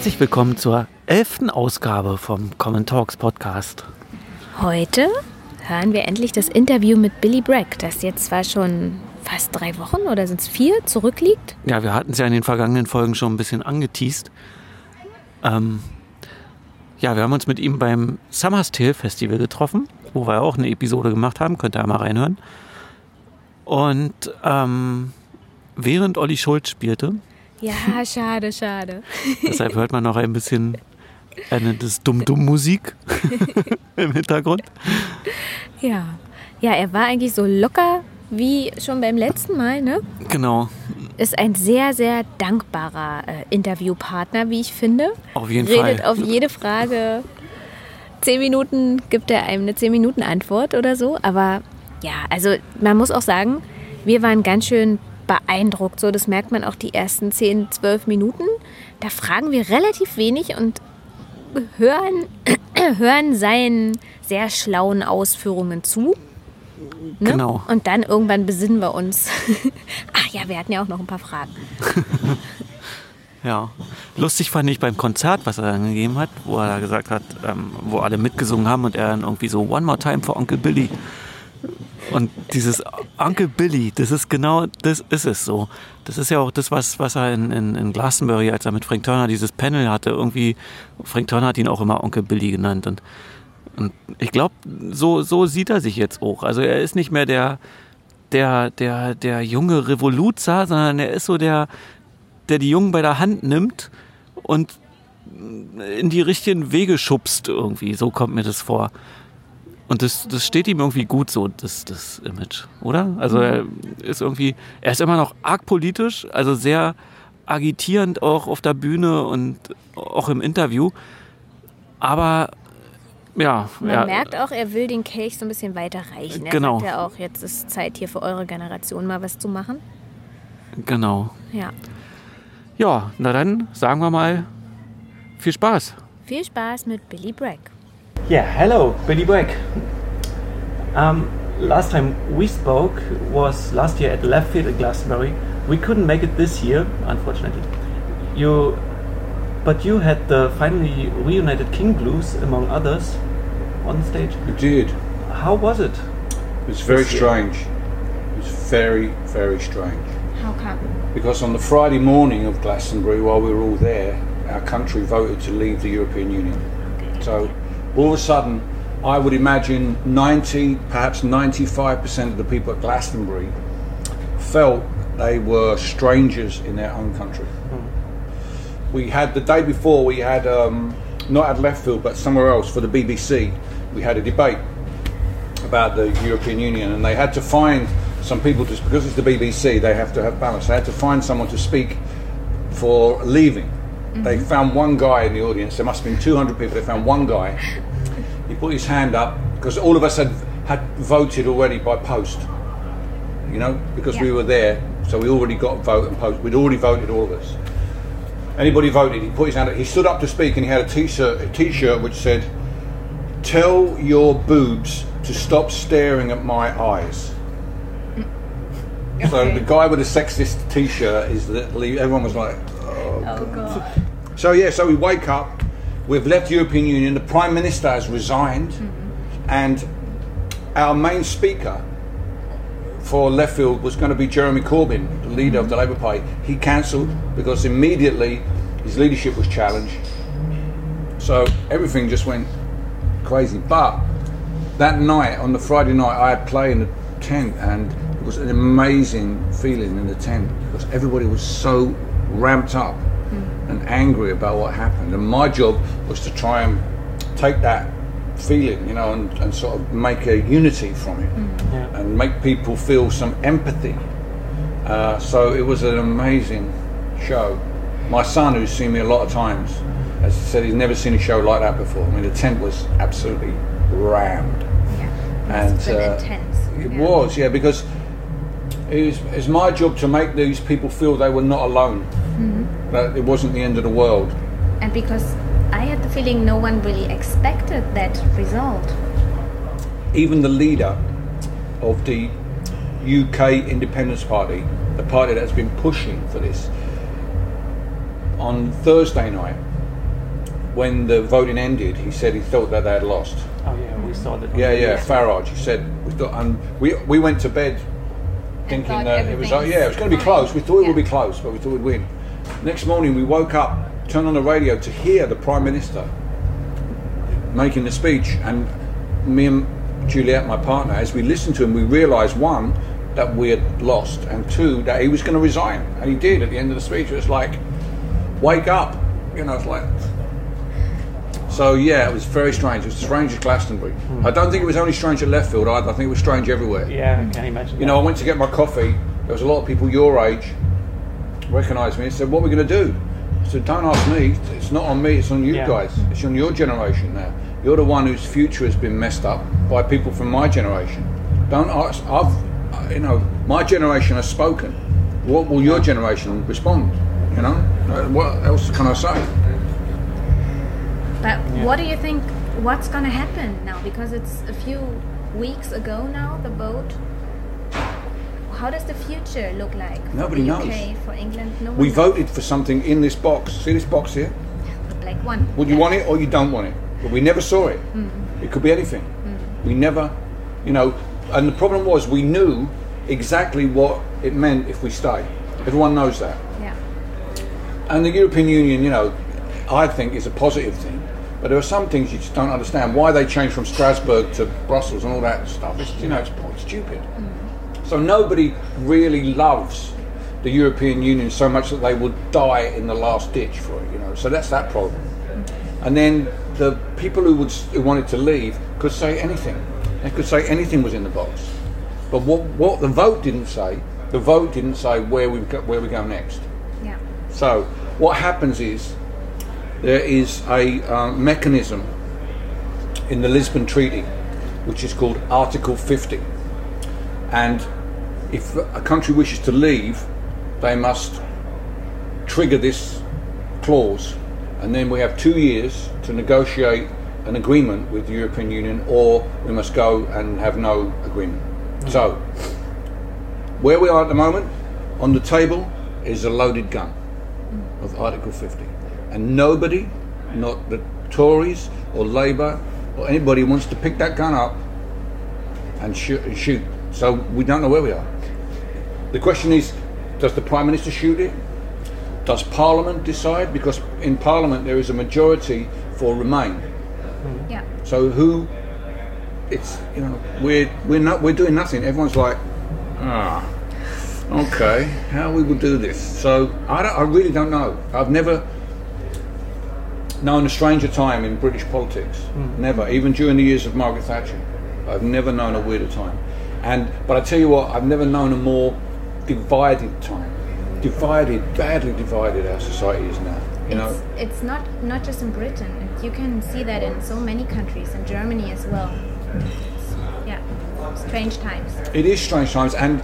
Herzlich willkommen zur 11. Ausgabe vom Common Talks Podcast. Heute hören wir endlich das Interview mit Billy Bragg, das jetzt zwar schon fast 3 Wochen oder sind es 4 zurückliegt. Ja, wir hatten es ja in den vergangenen Folgen schon ein bisschen angeteast. Ja, wir haben uns mit ihm beim Summer's Tale Festival getroffen, wo wir auch eine Episode gemacht haben, könnt ihr ja mal reinhören. Und während Olli Schulz spielte. Ja, schade. Deshalb hört man noch ein bisschen das Dumm-Dumm-Musik im Hintergrund. Ja, er war eigentlich so locker wie schon beim letzten Mal, ne? Genau. Ist ein sehr, sehr dankbarer Interviewpartner, wie ich finde. Auf jeden Fall. Redet auf jede Frage 10 Minuten, gibt er einem eine 10-Minuten-Antwort oder so. Aber ja, also man muss auch sagen, wir waren ganz schön beeindruckt. So, das merkt man auch die ersten 10, 12 Minuten. Da fragen wir relativ wenig und hören seinen sehr schlauen Ausführungen zu. Ne? Genau. Und dann irgendwann besinnen wir uns. Ach ja, wir hatten ja auch noch ein paar Fragen. Ja, lustig fand ich beim Konzert, was er dann gegeben hat, wo er da gesagt hat, wo alle mitgesungen haben und er dann irgendwie so One More Time for Uncle Billy. Und dieses Uncle Billy, das ist es so. Das ist ja auch das, was er in Glastonbury, als er mit Frank Turner dieses Panel hatte, irgendwie, Frank Turner hat ihn auch immer Onkel Billy genannt. Und ich glaube, so sieht er sich jetzt auch. Also er ist nicht mehr der junge Revoluzer, sondern er ist so der die Jungen bei der Hand nimmt und in die richtigen Wege schubst irgendwie. So kommt mir das vor. Und das steht ihm irgendwie gut so, das Image, oder? Also er ist immer noch arg politisch, also sehr agitierend auch auf der Bühne und auch im Interview. Aber ja. Man merkt auch, er will den Kelch so ein bisschen weiter reichen. Er genau. sagt ja auch, jetzt ist Zeit hier für eure Generation mal was zu machen. Genau. Ja. Ja, na dann sagen wir mal, viel Spaß. Viel Spaß mit Billy Bragg. Yeah, hello, Billy Bragg. Last time we spoke was last year at Left Field at Glastonbury. We couldn't make it this year, unfortunately. But you had the finally reunited King Blues, among others, on stage. We did. How was it? It was very strange. It was very, very strange. How come? Because on the Friday morning of Glastonbury, while we were all there, our country voted to leave the European Union. Okay. So all of a sudden, I would imagine 90, perhaps 95% of the people at Glastonbury felt they were strangers in their own country. We had, the day before, we had, not at Left Field, but somewhere else for the BBC, we had a debate about the European Union, and they had to find some people, just because it's the BBC, they have to have balance. They had to find someone to speak for leaving. They found one guy in the audience. There must have been 200 people. They found one guy. He put his hand up because all of us had voted already by post. You know, because we were there, so we already got a vote and post. We'd already voted, all of us. Anybody voted, he put his hand up. He stood up to speak, and he had a T-shirt which said, "Tell your boobs to stop staring at my eyes." Okay. So the guy with the sexist T-shirt is that everyone was like, "Oh God." So we wake up. We've left the European Union. The Prime Minister has resigned, and our main speaker for Left Field was going to be Jeremy Corbyn, the leader of the Labour Party. He cancelled because immediately his leadership was challenged. So everything just went crazy. But that night, on the Friday night, I had played in the tent, and it was an amazing feeling in the tent because everybody was so ramped up and angry about what happened. And my job was to try and take that feeling, you know, and sort of make a unity from it and make people feel some empathy. So it was an amazing show. My son, who's seen me a lot of times, has said he's never seen a show like that before. I mean, the tent was absolutely rammed. Yeah, it's intense. It was, because it's my job to make these people feel they were not alone, that it wasn't the end of the world. And because I had the feeling no one really expected that result. Even the leader of the UK Independence Party, the party that's been pushing for this, on Thursday night, when the voting ended, he said he thought that they had lost. Oh yeah, we saw that. Yeah, Farage. He said we thought, and we went to bed thinking that it was it was going to be close. We thought it would be close, but we thought we'd win. Next morning, we woke up, turned on the radio to hear the Prime Minister making the speech, and me and Juliet, my partner, as we listened to him, we realised, one, that we had lost, and two, that he was going to resign, and he did at the end of the speech. It was like, wake up, it's like. So yeah, it was very strange. It was strange at Glastonbury. I don't think it was only strange at left field either. I think it was strange everywhere. Yeah, I can imagine. I went to get my coffee. There was a lot of people your age recognised me and said, "What are we going to do?" I said, "Don't ask me. It's not on me. It's on you guys. It's on your generation now. You're the one whose future has been messed up by people from my generation. Don't ask. My generation has spoken. What will your generation respond? What else can I say?" But what do you think, what's going to happen now? Because it's a few weeks ago now, the vote. How does the future look like for Nobody the UK, knows. for England? No one We knows. voted for something in this box. See this box here? The black one. Would you want it or you don't want it? But we never saw it. It could be anything. We never, and the problem was we knew exactly what it meant if we stay. Everyone knows that. Yeah. And the European Union, I think is a positive thing. But there are some things you just don't understand. Why they changed from Strasbourg to Brussels and all that stuff. It's, it's stupid. So nobody really loves the European Union so much that they would die in the last ditch for it, So that's that problem. And then the people who wanted to leave could say anything. They could say anything was in the box. But what the vote didn't say where we go next. Yeah. So what happens is there is a mechanism in the Lisbon Treaty which is called Article 50. And if a country wishes to leave, they must trigger this clause, and then we have 2 years to negotiate an agreement with the European Union, or we must go and have no agreement. So, where we are at the moment, on the table is a loaded gun of Article 50. And nobody, not the Tories or Labour or anybody, wants to pick that gun up and shoot. So we don't know where we are. The question is, does the Prime Minister shoot it? Does Parliament decide? Because in Parliament there is a majority for Remain. Yeah. So we're doing nothing. Everyone's like, okay, how we will do this. So I really don't know. I've never known a stranger time in British politics. Never, even during the years of Margaret Thatcher. I've never known a weirder time. But I tell you what, I've never known a more divided time. Badly divided our society is now. It's not just in Britain. You can see that in so many countries, in Germany as well. Strange times. It is strange times, and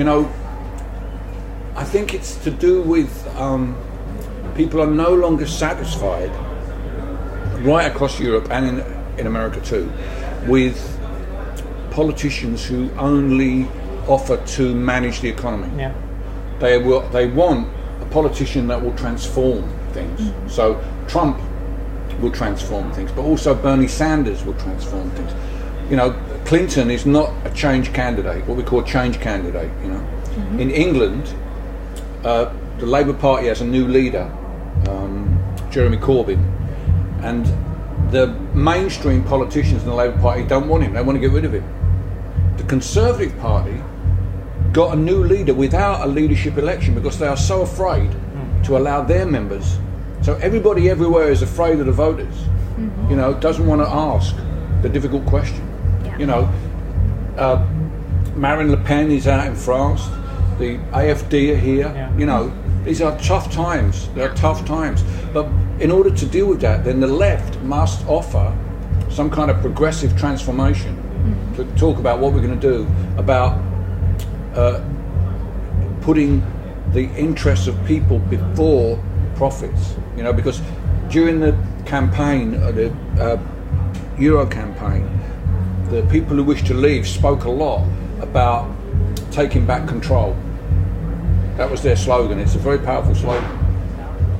I think it's to do with people are no longer satisfied, right across Europe and in America too, with politicians who only offer to manage the economy. Yeah. They want a politician that will transform things. So Trump will transform things, but also Bernie Sanders will transform things. Clinton is not a change candidate, what we call a change candidate. In England, the Labour Party has a new leader, Jeremy Corbyn, and the mainstream politicians in the Labour Party don't want him. They want to get rid of him. The Conservative Party got a new leader without a leadership election because they are so afraid to allow their members. So everybody everywhere is afraid of the voters. Doesn't want to ask the difficult question. Marine Le Pen is out in France. The AfD are here. These are tough times. They're tough times. But in order to deal with that, then the left must offer some kind of progressive transformation to talk about what we're going to do about putting the interests of people before profits. Because during the campaign, the Euro campaign, the people who wished to leave spoke a lot about taking back control. That was their slogan. It's a very powerful slogan.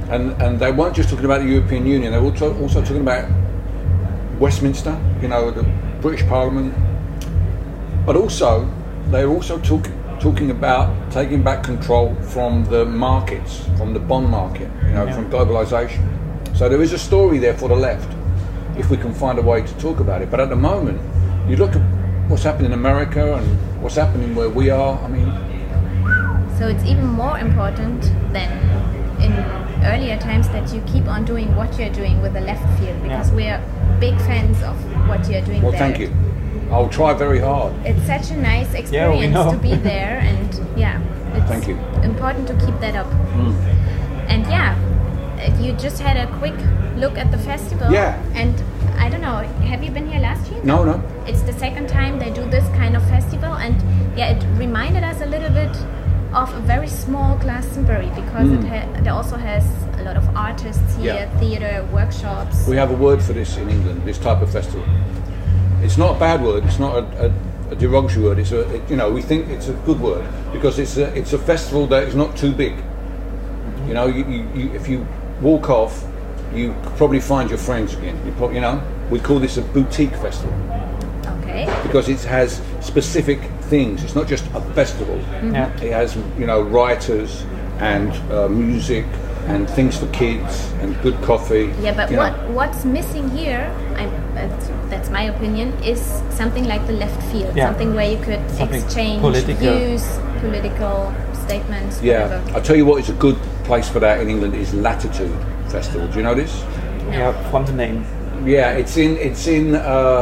And they weren't just talking about the European Union, they were also talking about Westminster, you know, the British Parliament, but also they were also talking about taking back control from the markets, from the bond market, you know, from globalisation. So there is a story there for the left, if we can find a way to talk about it. But at the moment, you look at what's happening in America and what's happening where we are, I mean... So it's even more important than in earlier times that you keep on doing what you're doing with the left field, because we're big fans of what you're doing there. Well, thank you. I'll try very hard. It's such a nice experience to be there, and it's thank you. important to keep that up. And you just had a quick look at the festival. Yeah. And I don't know, have you been here last year? No. It's the second time they do this kind of festival, and it reminded us a little bit of a very small Glastonbury, because it also has a lot of artists here, theatre, workshops. We have a word for this in England, this type of festival. It's not a bad word, it's not a derogatory word, we think it's a good word, because it's a festival that is not too big. You know, you if you walk off, you probably find your friends again. We call this a boutique festival. Okay. Because it has specific things. It's not just a festival. It has, writers and music and things for kids and good coffee. Yeah, but what's missing here, that's my opinion, is something like the left field. Something where you could exchange views, political statements, whatever. I'll tell you what is a good place for that in England is Latitude Festival. Do you know this? Yeah, from the name. Yeah, it's in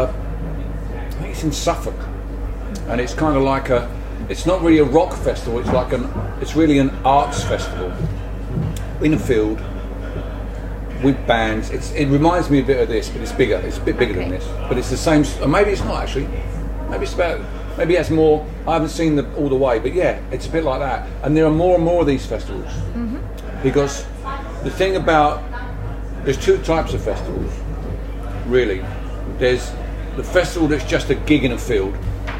Suffolk, and it's kind of like it's not really a rock festival. It's really an arts festival in a field with bands. It reminds me a bit of this, but it's bigger. It's a bit bigger than this, but it's the same. Maybe it's not actually. Maybe it has more. I haven't seen all the way, but it's a bit like that. And there are more and more of these festivals because the thing about there's two types of festivals, really. There's the festival that's just a gig in a field,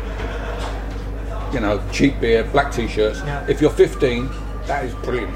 cheap beer, black t-shirts. If you're 15, that is brilliant.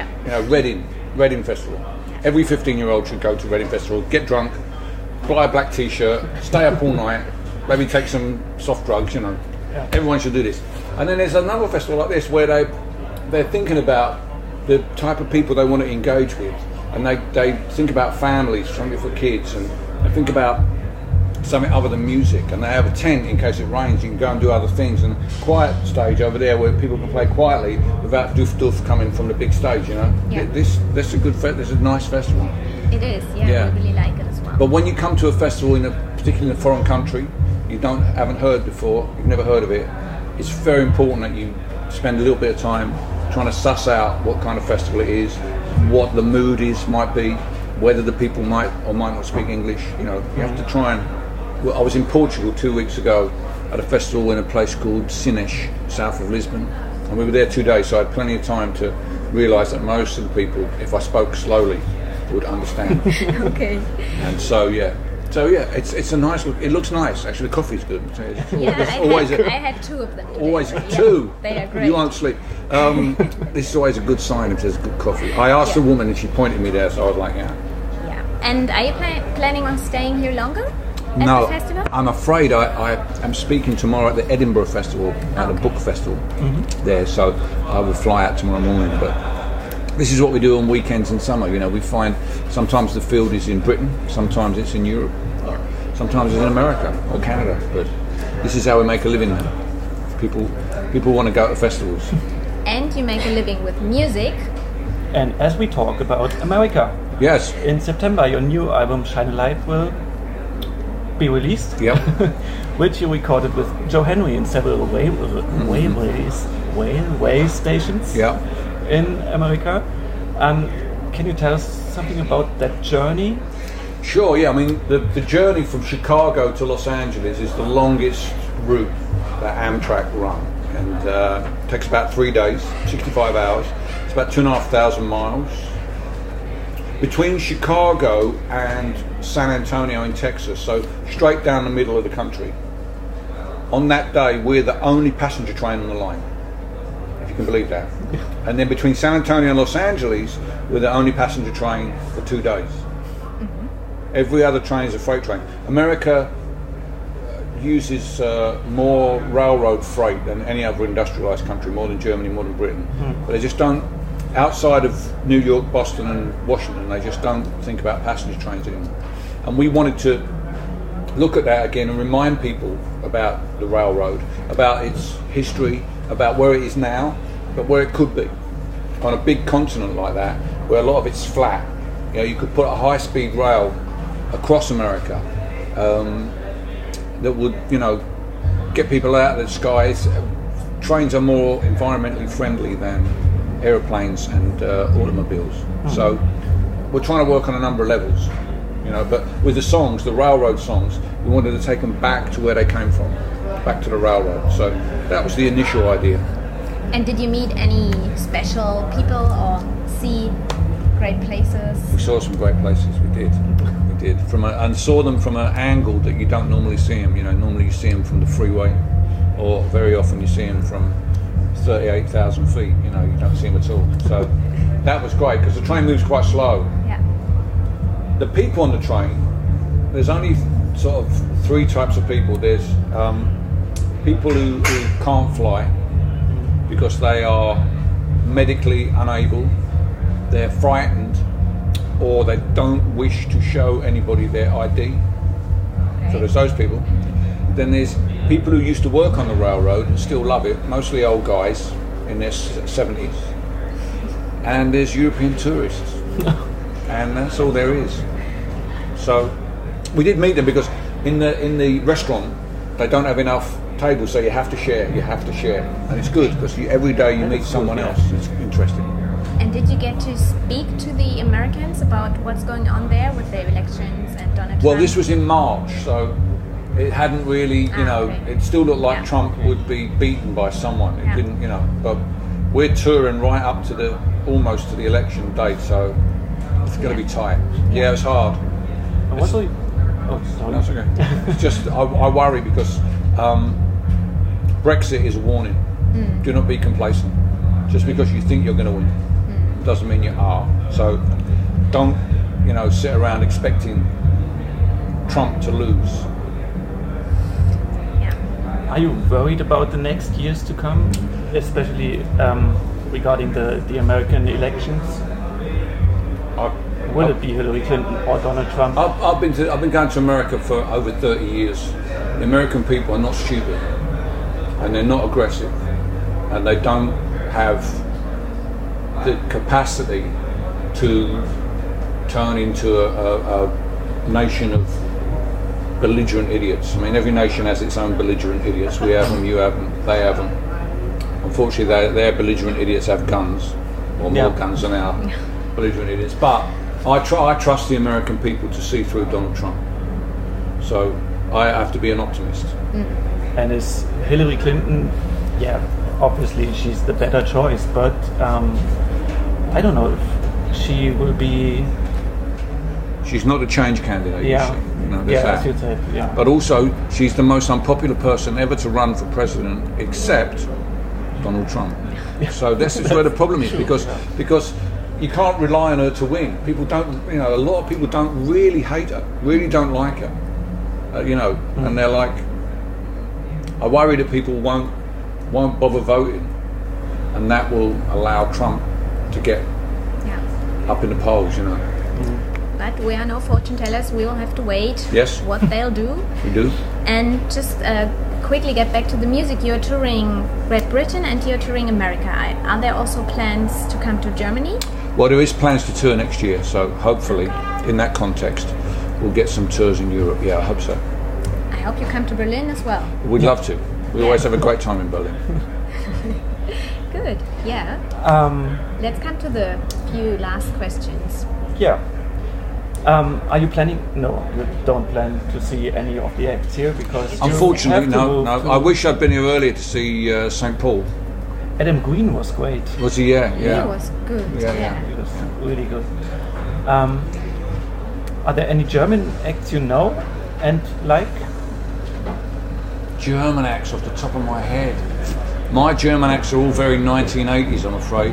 Reading Festival. Every 15-year-old should go to Reading Festival, get drunk, buy a black t-shirt, stay up all night, maybe take some soft drugs, Everyone should do this. And then there's another festival like this where they're thinking about the type of people they want to engage with, and they think about families, something for kids, and they think about something other than music, and they have a tent in case it rains. You can go and do other things, and quiet stage over there where people can play quietly without doof coming from the big stage. This is a nice festival. It is, I really like it as well. But when you come to a festival particularly in a foreign country, you haven't heard before, you've never heard of it, it's very important that you spend a little bit of time trying to suss out what kind of festival it is, what the mood might be, whether the people might or might not speak English. You have to try and... Well, I was in Portugal 2 weeks ago at a festival in a place called Sines, south of Lisbon, and we were there 2 days, so I had plenty of time to realise that most of the people, if I spoke slowly, would understand. Okay. And so it's a nice look. It looks nice. Actually, the coffee's good. I had two of them today. Always two. They are great. You won't sleep. This is always a good sign if there's good coffee. I asked a woman and she pointed me there, so I was like, yeah. And are you planning on staying here longer? No, the festival? I'm afraid I am speaking tomorrow at the Edinburgh Festival, at the book festival there, so I will fly out tomorrow morning. But this is what we do on weekends in summer. We find sometimes the field is in Britain, sometimes it's in Europe, sometimes it's in America or Canada. But this is how we make a living now. People want to go to festivals. And you make a living with music. And as we talk about America. Yes. In September, your new album Shine a Light will be released. Yep. Which you recorded with Joe Henry in several railway stations in America. Can you tell us something about that journey? Sure, I mean, the journey from Chicago to Los Angeles is the longest route that Amtrak run, and takes about 3 days, 65 hours. It's about 2,500 miles. Between Chicago and San Antonio in Texas, so straight down the middle of the country. On that day, we're the only passenger train on the line. You can believe that. And then between San Antonio and Los Angeles, we're the only passenger train for 2 days. Every other train is a freight train. America uses more railroad freight than any other industrialized country, more than Germany, more than Britain. But they just don't, outside of New York, Boston and Washington, they just don't think about passenger trains anymore. And we wanted to look at that again and remind people about the railroad, about its history, about where it is now, but where it could be. On a big continent like that, where a lot of it's flat, you know, you could put a high-speed rail across America that would, you know, get people out of the skies. Trains are more environmentally friendly than aeroplanes and automobiles. So we're trying to work on a number of levels, you know, but with the songs, the railroad songs, we wanted to take them back to where they came from, back to the railroad. So that was the initial idea. And did you meet any special people or see great places? We saw some great places, we did. And saw them from an angle that you don't normally see them. You know, normally you see them from the freeway, or very often you see them from 38,000 feet. You know, you don't see them at all. So that was great because the train moves quite slow. Yeah. The people on the train, there's only sort of 3 types of people. There's people who can't fly because they are medically unable, they're frightened, or they don't wish to show anybody their ID. Okay. So there's those people. Then there's people who used to work on the railroad and still love it, mostly old guys in their 70s. And there's European tourists. And that's all there is. So we did meet them because in the restaurant they don't have enough tables, so you have to share. And it's good because every day you meet someone else. It's interesting. And did you get to speak to the Americans about what's going on there with the elections and Donald Trump? Well, this was in March, so it hadn't really, you know, okay. it still looked like Trump would be beaten by someone. It Yeah. didn't, you know, but we're touring right up to almost to the election date, so it's going to be tight. Yeah, it's hard. And what do you... Oh, sorry. No, it's okay. It's just, I worry because Brexit is a warning. Do not be complacent. Just because you think you're going to win doesn't mean you are. So don't, you know, sit around expecting Trump to lose. Yeah. Are you worried about the next years to come, especially regarding the American elections? Will it be Hillary Clinton or Donald Trump? I've been going to America for over 30 years. The American people are not stupid, and they're not aggressive, and they don't have the capacity to turn into a nation of belligerent idiots. I mean, every nation has its own belligerent idiots. We have them, you have them, they have them. Unfortunately, their belligerent idiots have guns, or more guns than our belligerent idiots. But I trust the American people to see through Donald Trump. So I have to be an optimist. And is Hillary Clinton, obviously she's the better choice, but I don't know if she will be... She's not a change candidate, is she? No, as you said, But also, she's the most unpopular person ever to run for president, except Donald Trump. So this is where the problem is, because you can't rely on her to win. People don't, you know, a lot of people don't really hate her, really don't like her, you know, and they're like, I worry that people won't bother voting, and that will allow Trump to get up in the polls, you know. But we are no fortune tellers. We will have to wait what they'll do. We do. And just quickly get back to the music. You're touring Great Britain and you're touring America. Are there also plans to come to Germany? Well, there is plans to tour next year, so hopefully, in that context, we'll get some tours in Europe. Yeah, I hope so. I hope you come to Berlin as well. We'd love to. We always have a great time in Berlin. Good, yeah. Let's come to the few last questions. Yeah. Are you planning? No, you don't plan to see any of the acts here because. Unfortunately, no. I wish I'd been here earlier to see St. Paul. Adam Green was great. Was he? Yeah. He was good. Yeah. He was really good. Are there any German acts you know and like? German acts off the top of my head. My German acts are all very 1980s, I'm afraid.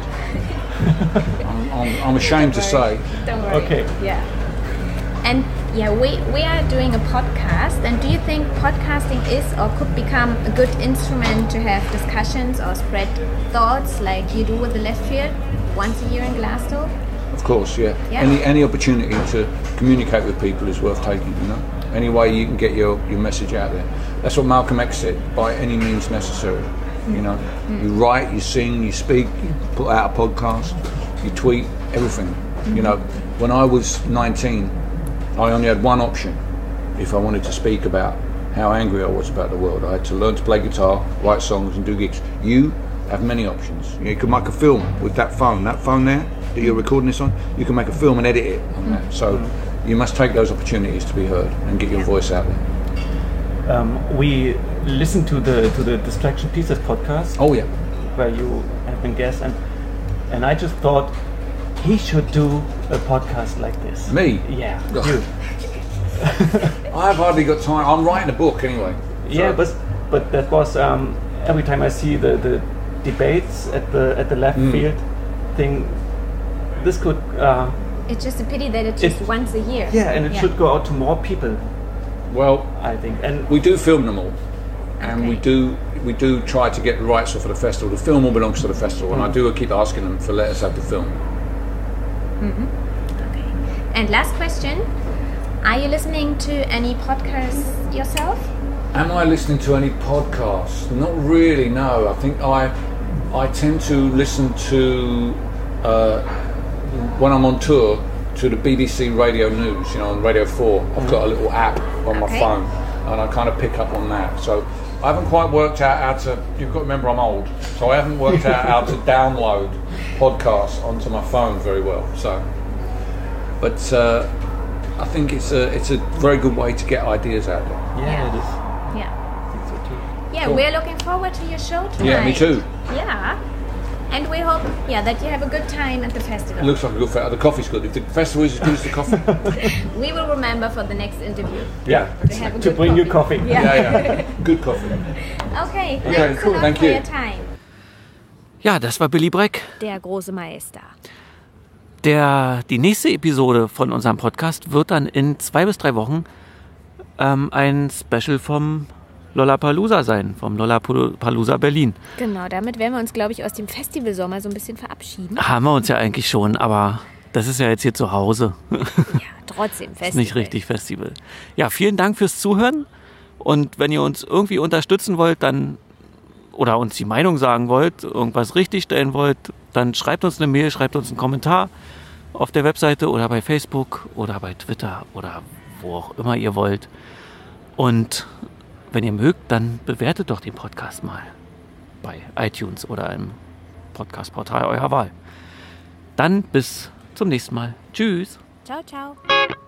I'm ashamed to say. Don't worry. Okay. Yeah. And yeah, we are doing a podcast. And do you think podcasting is or could become a good instrument to have discussions or spread thoughts like you do with the Left Field once a year in Glasgow? Of course, yeah. Yeah. Any opportunity to communicate with people is worth taking, you know. Any way you can get your message out there. That's what Malcolm X said, by any means necessary. You know, you write, you sing, you speak, you put out a podcast, you tweet, everything. You know, when I was 19, I only had one option if I wanted to speak about how angry I was about the world. I had to learn to play guitar, write songs and do gigs. You have many options. You can make a film with that phone there that you're recording this on, you can make a film and edit it on that. So you must take those opportunities to be heard and get your voice out there. We listened to the Distraction Pieces podcast. Oh yeah. Where you have been guest, and I just thought he should do a podcast like this. Me? Yeah, Ugh. you. I've hardly got time. I'm writing a book anyway. So. Yeah, but that was every time I see the debates at the Left Field thing. This could. It's just a pity that it's just once a year. Yeah, and it should go out to more people. Well, I think, and we do film them all, and we do try to get the rights off of the festival. The film all belongs to the festival, and I do keep asking them for let us have the film. Okay. And last question: are you listening to any podcasts yourself? Am I listening to any podcasts? Not really. No, I think I tend to listen to when I'm on tour. To the BBC Radio News, you know, on Radio 4. I've got a little app on my phone, and I kind of pick up on that. So I haven't quite worked out how to. You've got to remember, I'm old, so I haven't worked out how to download podcasts onto my phone very well. So, but I think it's a very good way to get ideas out there. yeah, it is. Yeah. I think so too. Yeah, Cool. we're looking forward to your show tonight. Yeah, me too. Yeah. And we hope, that you have a good time at the festival. It looks like a good festival. The coffee's good. If the festival is as good as the coffee, We will remember for the next interview. Yeah, To have a to good bring you coffee. coffee. yeah, good coffee. Okay, Okay, thanks cool, a lot thank for you. your time. Ja, das war Billy Bragg. Der große Meister. Die nächste Episode von unserem Podcast wird dann in 2 bis 3 Wochen ein Special vom Lollapalooza sein, vom Lollapalooza Berlin. Genau, damit werden wir uns, glaube ich, aus dem Festivalsommer so ein bisschen verabschieden. Haben wir uns ja eigentlich schon, aber das ist ja jetzt hier zu Hause. Ja, trotzdem Festival. Ist nicht richtig Festival. Ja, vielen Dank fürs Zuhören. Und wenn ihr uns irgendwie unterstützen wollt, dann oder uns die Meinung sagen wollt, irgendwas richtigstellen wollt, dann schreibt uns eine Mail, schreibt uns einen Kommentar auf der Webseite oder bei Facebook oder bei Twitter oder wo auch immer ihr wollt. Und wenn ihr mögt, dann bewertet doch den Podcast mal bei iTunes oder einem Podcast-Portal eurer Wahl. Dann bis zum nächsten Mal. Tschüss. Ciao, ciao.